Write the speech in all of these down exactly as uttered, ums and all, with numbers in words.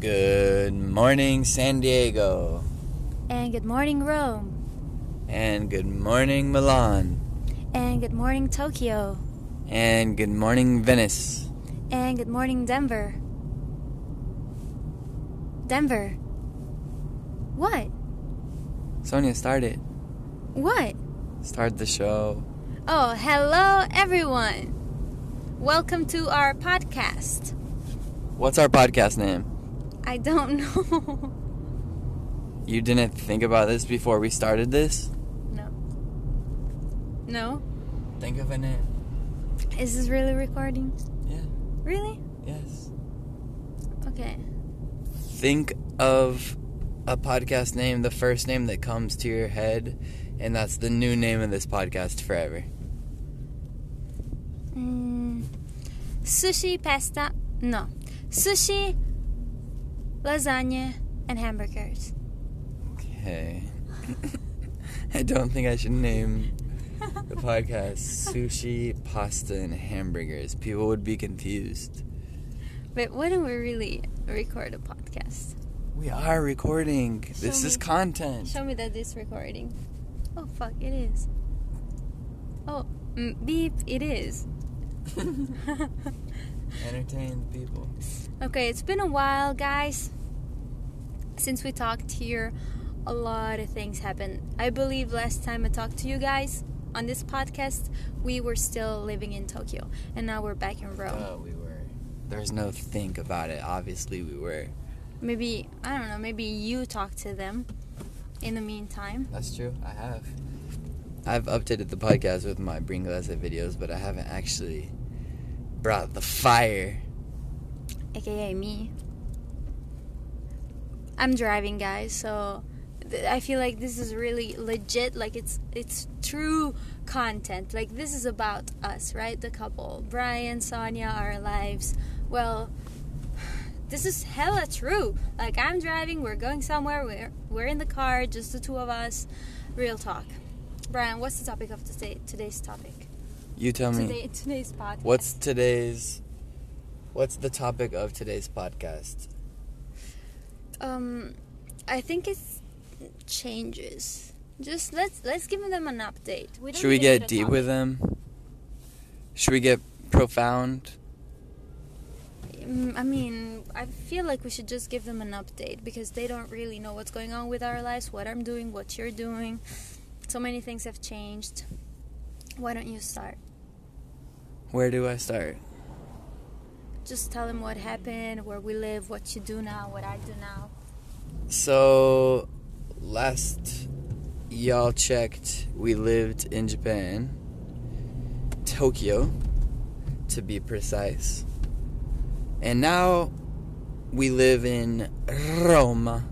Good morning, San Diego. And good morning, Rome. And good morning, Milan. And good morning, Tokyo. And good morning, Venice. And good morning, Denver. Denver. What? Sonia, start it. What? Start the show. Oh, hello, everyone. Welcome to our podcast. What's our podcast name? I don't know. You didn't think about this before we started this? No. No? Think of a name. Is this really recording? Yeah. Really? Yes. Okay. Think of a podcast name, the first name that comes to your head, and that's the new name of this podcast forever. Mm, sushi, pasta. No. Sushi, lasagna, and hamburgers. Okay. I don't think I should name the podcast Sushi, Pasta, and Hamburgers. People would be confused. But why don't we really record a podcast? We are recording. Show This me. is content. Show me that it's recording. Oh, fuck, it is. Oh, mm, beep, it is. Entertain the people. Okay, it's been a while, guys, since we talked here. A lot of things happened. I believe last time I talked to you guys on this podcast, we were still living in Tokyo, and now we're back in Rome. Oh, we were. There's no think about it. Obviously, we were. Maybe, I don't know, maybe you talked to them in the meantime. That's true. I have. I've updated the podcast with my Bring Glass videos, but I haven't actually brought the fire. A K A me. I'm driving, guys, so th- I feel like this is really legit. Like, it's it's true content. Like, this is about us, right? The couple. Brian, Sonia, our lives. Well, this is hella true. Like, I'm driving, we're going somewhere, we're, we're in the car, just the two of us. Real talk. Brian, what's the topic of today, today's topic? You tell me. Today, today's podcast. What's today's... What's the topic of today's podcast? Um, I think it changes. Just let's let's give them an update. We don't Should we even need get a deep topic. with them? Should we get profound? Mm, I mean, I feel like we should just give them an update because they don't really know what's going on with our lives, what I'm doing, what you're doing. So many things have changed. Why don't you start? Where do I start? Just tell them what happened, where we live, what you do now, what I do now. So, last y'all checked, we lived in Japan, Tokyo, to be precise. And now we live in Rome.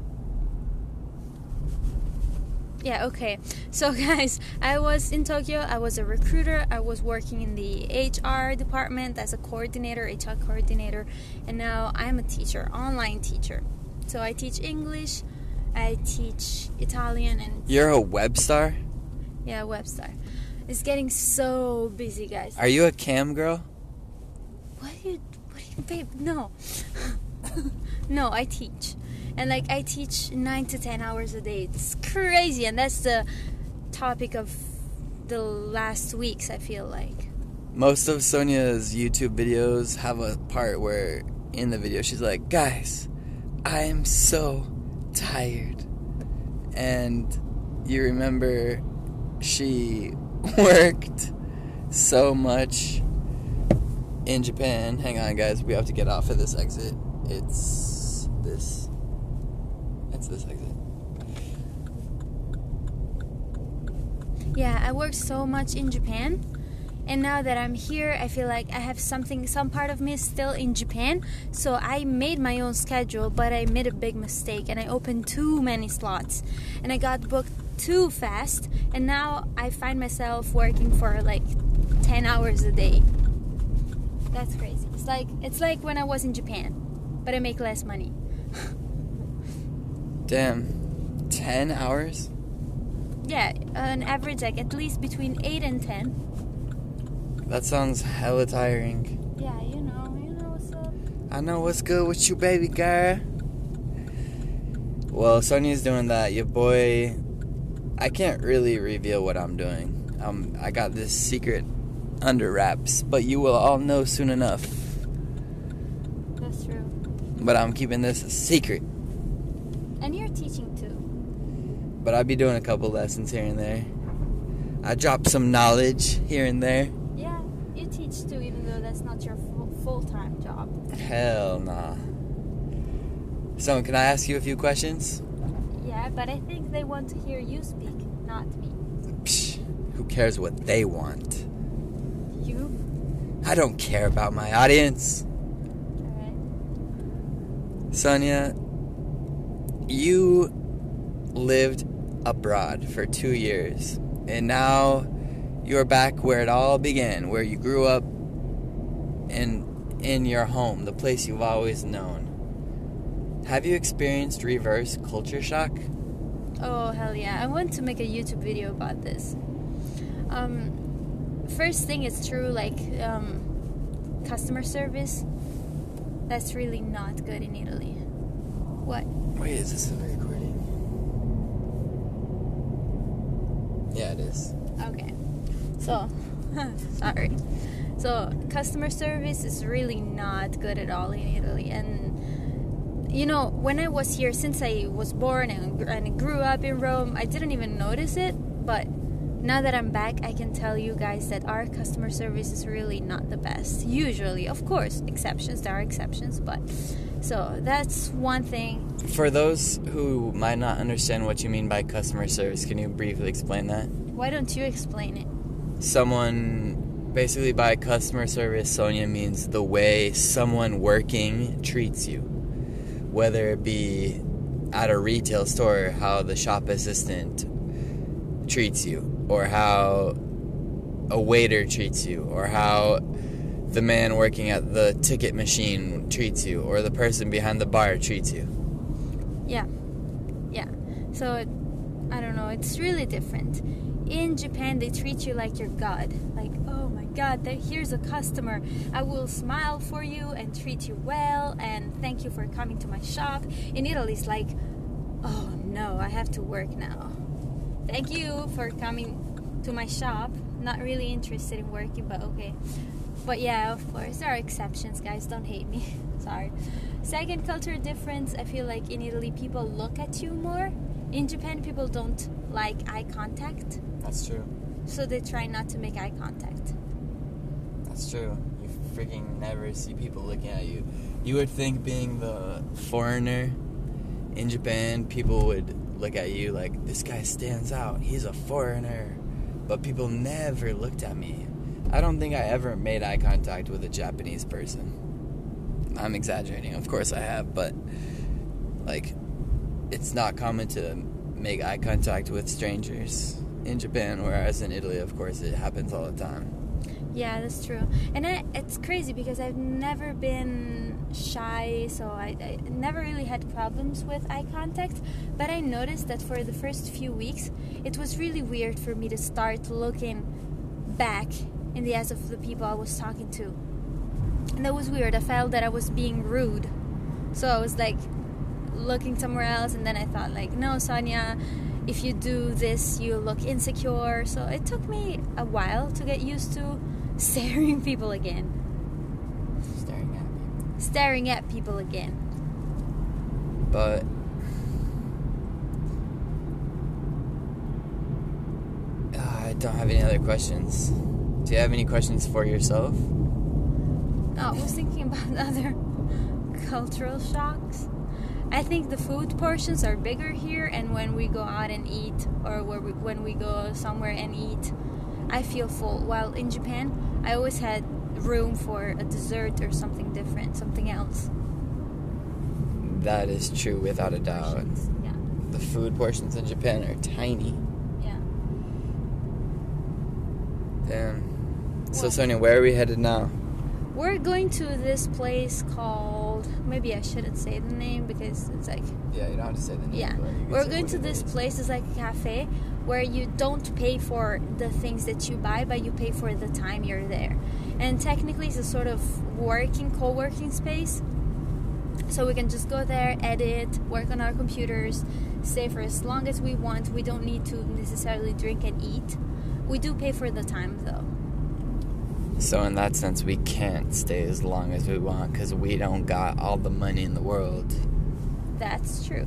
Yeah, okay. So, guys, I was in Tokyo. I was a recruiter. I was working in the H R department as a coordinator, H R coordinator. And now I'm a teacher, online teacher. So I teach English, I teach Italian, and... You're a web star? Yeah, website. It's getting so busy, guys. Are you a cam girl? What are you... What are you... Babe, no. No, I teach. And, like, I teach nine to ten hours a day. It's crazy. And that's the topic of the last weeks, I feel like. Most of Sonia's YouTube videos have a part where in the video she's like, guys, I am so tired. And you remember she worked so much in Japan. Hang on, guys. We have to get off of this exit. It's this. It's this exit. Yeah, I worked so much in Japan. And now that I'm here, I feel like I have something, some part of me is still in Japan. So I made my own schedule, but I made a big mistake. And I opened too many slots. And I got booked too fast. And now I find myself working for like ten hours a day. That's crazy. It's like, it's like when I was in Japan, but I make less money. Damn. ten hours? Yeah, on average, like at least between eight and ten. That sounds hella tiring. Yeah, you know, you know what's up. I know what's good with you, baby girl. Well, Sonia's doing that. Your boy, I can't really reveal what I'm doing. Um, I got this secret under wraps, but you will all know soon enough. That's true. But I'm keeping this a secret. And you're teaching too. But I'll be doing a couple lessons here and there. I drop some knowledge here and there. Yeah, you teach too, even though that's not your full- full-time job. Hell nah. So, can I ask you a few questions? Yeah, but I think they want to hear you speak, not me. Psh, who cares what they want? You? I don't care about my audience. Alright. Sonia, you lived abroad for two years, and now you're back where it all began, where you grew up in in your home, the place you've always known. Have you experienced reverse culture shock? Oh, hell yeah. I want to make a YouTube video about this. Um, first thing, it's true, like, um, customer service, that's really not good in Italy. What? Wait, is this a recording? Yeah, it is. Okay. So, sorry. So, customer service is really not good at all in Italy. And, you know, when I was here, since I was born and, and grew up in Rome, I didn't even notice it. But now that I'm back, I can tell you guys that our customer service is really not the best. Usually, of course, exceptions, there are exceptions. But, so, that's one thing. For those who might not understand what you mean by customer service, can you briefly explain that? Why don't you explain it? Someone, basically by customer service, Sonia means the way someone working treats you. Whether it be at a retail store, how the shop assistant treats you, or how a waiter treats you, or how the man working at the ticket machine treats you, or the person behind the bar treats you. Yeah. Yeah. So, I don't know, it's really different. In Japan, they treat you like you're God. Like, oh my God, there, here's a customer. I will smile for you and treat you well and thank you for coming to my shop. In Italy, it's like, oh no, I have to work now. Thank you for coming to my shop. Not really interested in working, but okay. But yeah, of course, there are exceptions, guys. Don't hate me. Sorry. Second culture difference, I feel like in Italy, people look at you more. In Japan, people don't like eye contact. That's true. So they try not to make eye contact. That's true. You freaking never see people looking at you. You would think being the foreigner in Japan, people would look at you like, this guy stands out. He's a foreigner. But people never looked at me. I don't think I ever made eye contact with a Japanese person. I'm exaggerating. Of course I have, but like, it's not common to make eye contact with strangers in Japan, whereas in Italy, of course, it happens all the time. Yeah, that's true. And I, it's crazy because I've never been shy, so I, I never really had problems with eye contact. But I noticed that for the first few weeks, it was really weird for me to start looking back in the eyes of the people I was talking to. And that was weird. I felt that I was being rude. So I was like looking somewhere else, and then I thought like, no, Sonia, if you do this, you look insecure. So it took me a while to get used to staring people again. Staring at people. Staring at people again. But uh, I don't have any other questions. Do you have any questions for yourself? No, I was thinking about other cultural shocks. I think the food portions are bigger here, and when we go out and eat, or where we, when we go somewhere and eat, I feel full. While in Japan, I always had room for a dessert or something different, something else. That is true, without a doubt. Yeah. The food portions in Japan are tiny. Yeah. Damn. So, Well- Sonia, where are we headed now? We're going to this place called, maybe I shouldn't say the name because it's like, Yeah, you don't have to say the name. yeah. but you can We're say going what to it this is. place, it's like a cafe where you don't pay for the things that you buy, but you pay for the time you're there. And technically it's a sort of working, co-working space. So we can just go there, edit, work on our computers, stay for as long as we want. We don't need to necessarily drink and eat. We do pay for the time, though. So in that sense, we can't stay as long as we want because we don't got all the money in the world. That's true.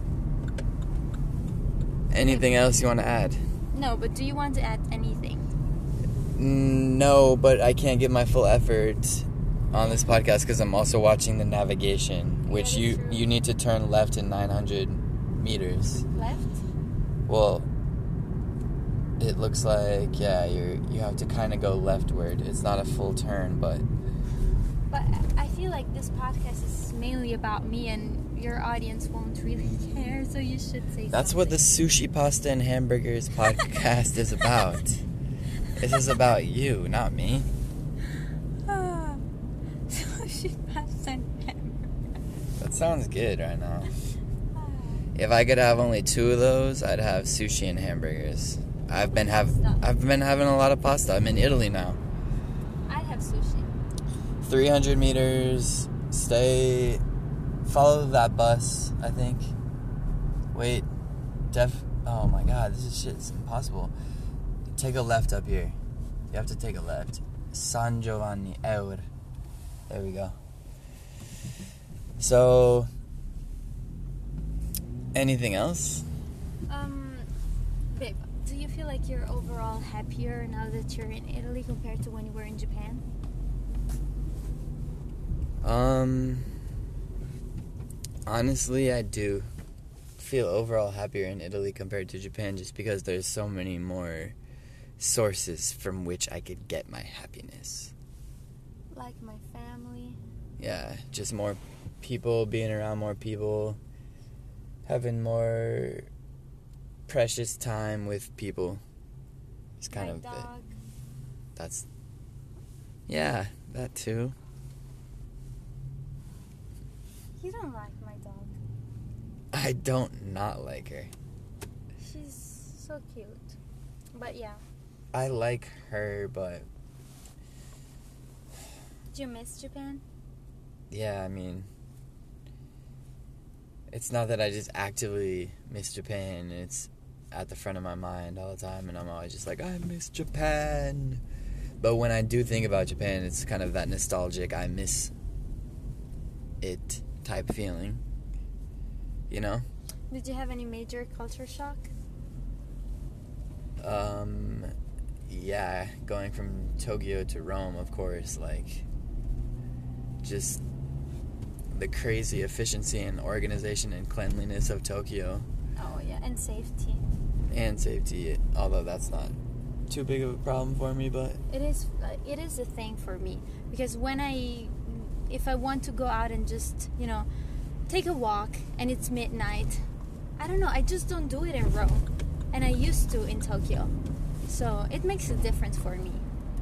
Anything else you want to add? No, but do you want to add anything? No, but I can't give my full effort on this podcast because I'm also watching the navigation, which Yeah, you true. you need to turn left in nine hundred meters. Left? Well, it looks like yeah, you you have to kind of go leftward. It's not a full turn, but But I feel like this podcast is mainly about me, and your audience won't really care, so you should say that's something. what the Sushi Pasta and Hamburgers podcast is about. This is about you, not me. Ah, sushi pasta and hamburger. That sounds good right now. Ah. If I could have only two of those, I'd have sushi and hamburgers. I've been have I've been having a lot of pasta. I'm in Italy now. I have sushi. three hundred meters. Stay. Follow that bus. I think. Wait. Def. Oh my God! This is shit's impossible. Take a left up here. You have to take a left. San Giovanni Eur. There we go. So. Anything else? Um, babe, do you feel like you're overall happier now that you're in Italy compared to when you were in Japan? Um, honestly, I do feel overall happier in Italy compared to Japan just because there's so many more sources from which I could get my happiness. Like my family? Yeah, just more people, being around more people, having more precious time with people. It's kind my of dog? it. That's, yeah, that too. You don't like my dog. I don't not like her. She's so cute. But yeah. I like her, but Do you miss Japan? yeah, I mean, it's not that I just actively miss Japan. It's at the front of my mind all the time, and I'm always just like, I miss Japan. But when I do think about Japan, it's kind of that nostalgic, I miss it type feeling. You know? Did you have any major culture shock? Um, yeah, going from Tokyo to Rome, of course, like, just the crazy efficiency and organization and cleanliness of Tokyo. Oh yeah, and safety. And safety, although that's not too big of a problem for me, but It is. Uh, it is a thing for me because when I, if I want to go out and just you know, take a walk and it's midnight, I don't know. I just don't do it in Rome, and I used to in Tokyo, so it makes a difference for me.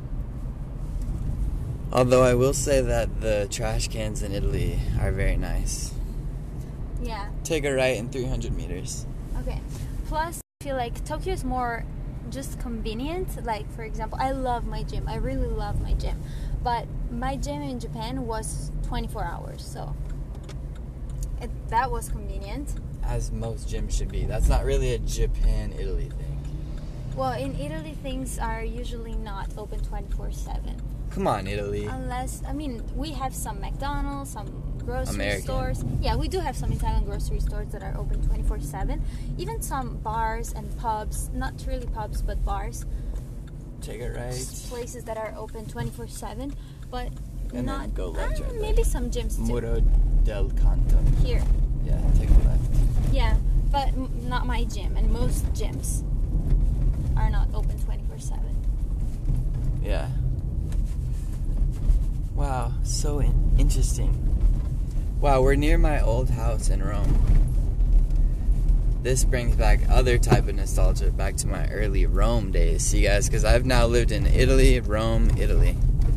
although I will say that the trash cans in Italy are very nice. Yeah. Take a right in three hundred meters. Okay. Plus, I feel like Tokyo is more just convenient. Like, for example, I love my gym. I really love my gym. But my gym in Japan was twenty-four hours, so it, that was convenient. As most gyms should be. That's not really a Japan-Italy thing. Well, in Italy, things are usually not open twenty-four seven. Come on, Italy. Unless, I mean, we have some McDonald's, some grocery American. stores. Yeah, we do have some Italian grocery stores that are open twenty-four seven. Even some bars and pubs, not really pubs, but bars. Take it right. Places that are open twenty-four seven, but And not... then go left uh, right there. maybe some gyms too. Muro del Canto. Here. Yeah, take a left. Yeah, but m- not my gym, and most gyms are not open twenty-four seven. Yeah. Wow, so in- interesting. Wow, we're near my old house in Rome. This brings back other type of nostalgia, back to my early Rome days, see guys, because I've now lived in Italy, Rome, Italy.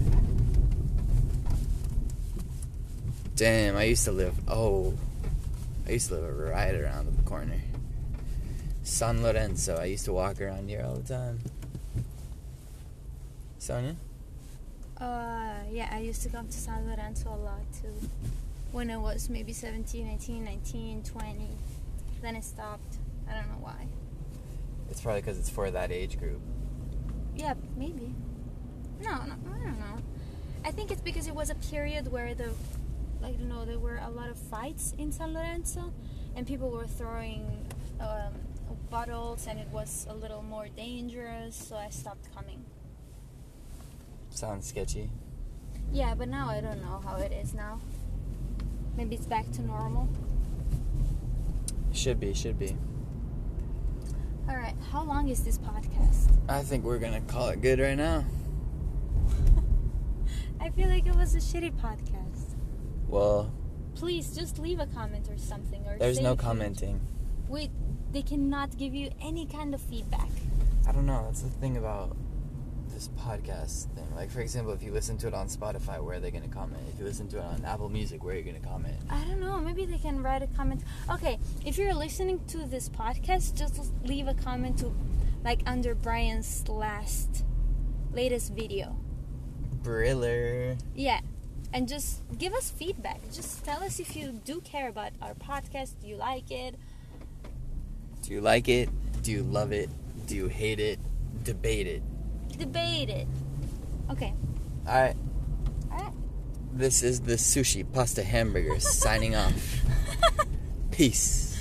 Damn, I used to live, oh, I used to live right around the corner. San Lorenzo, I used to walk around here all the time. Sonia? Uh, yeah, I used to come to San Lorenzo a lot too. when I was maybe seventeen, eighteen, nineteen, twenty. Then it stopped. I don't know why. It's probably because it's for that age group. Yeah, maybe. No, no, I don't know. I think it's because it was a period where the, like, you know, there were a lot of fights in San Lorenzo, and people were throwing um, bottles, and it was a little more dangerous, so I stopped coming. Sounds sketchy. Yeah, but now I don't know how it is now. Maybe it's back to normal. Should be, should be. All right, how long is this podcast? I think we're gonna call it good right now. I feel like it was a shitty podcast. Well, please just leave a comment or something. Or there's say no if you- commenting. Wait, they cannot give you any kind of feedback. I don't know. That's the thing about this podcast thing. Like, for example, if you listen to it on Spotify, where are they going to comment? If you listen to it on Apple Music, where are you going to comment? I don't know. Maybe they can write a comment. Okay, if you're listening to this podcast, just leave a comment to, like, under Brian's last, latest video. Briller. Yeah, and just give us feedback. Just tell us if you do care about our podcast. Do you like it? Do you like it? Do you love it? Do you hate it? Debate it. Debate it. Okay. Alright. Alright. This is the Sushi Pasta Hamburger signing off. Peace.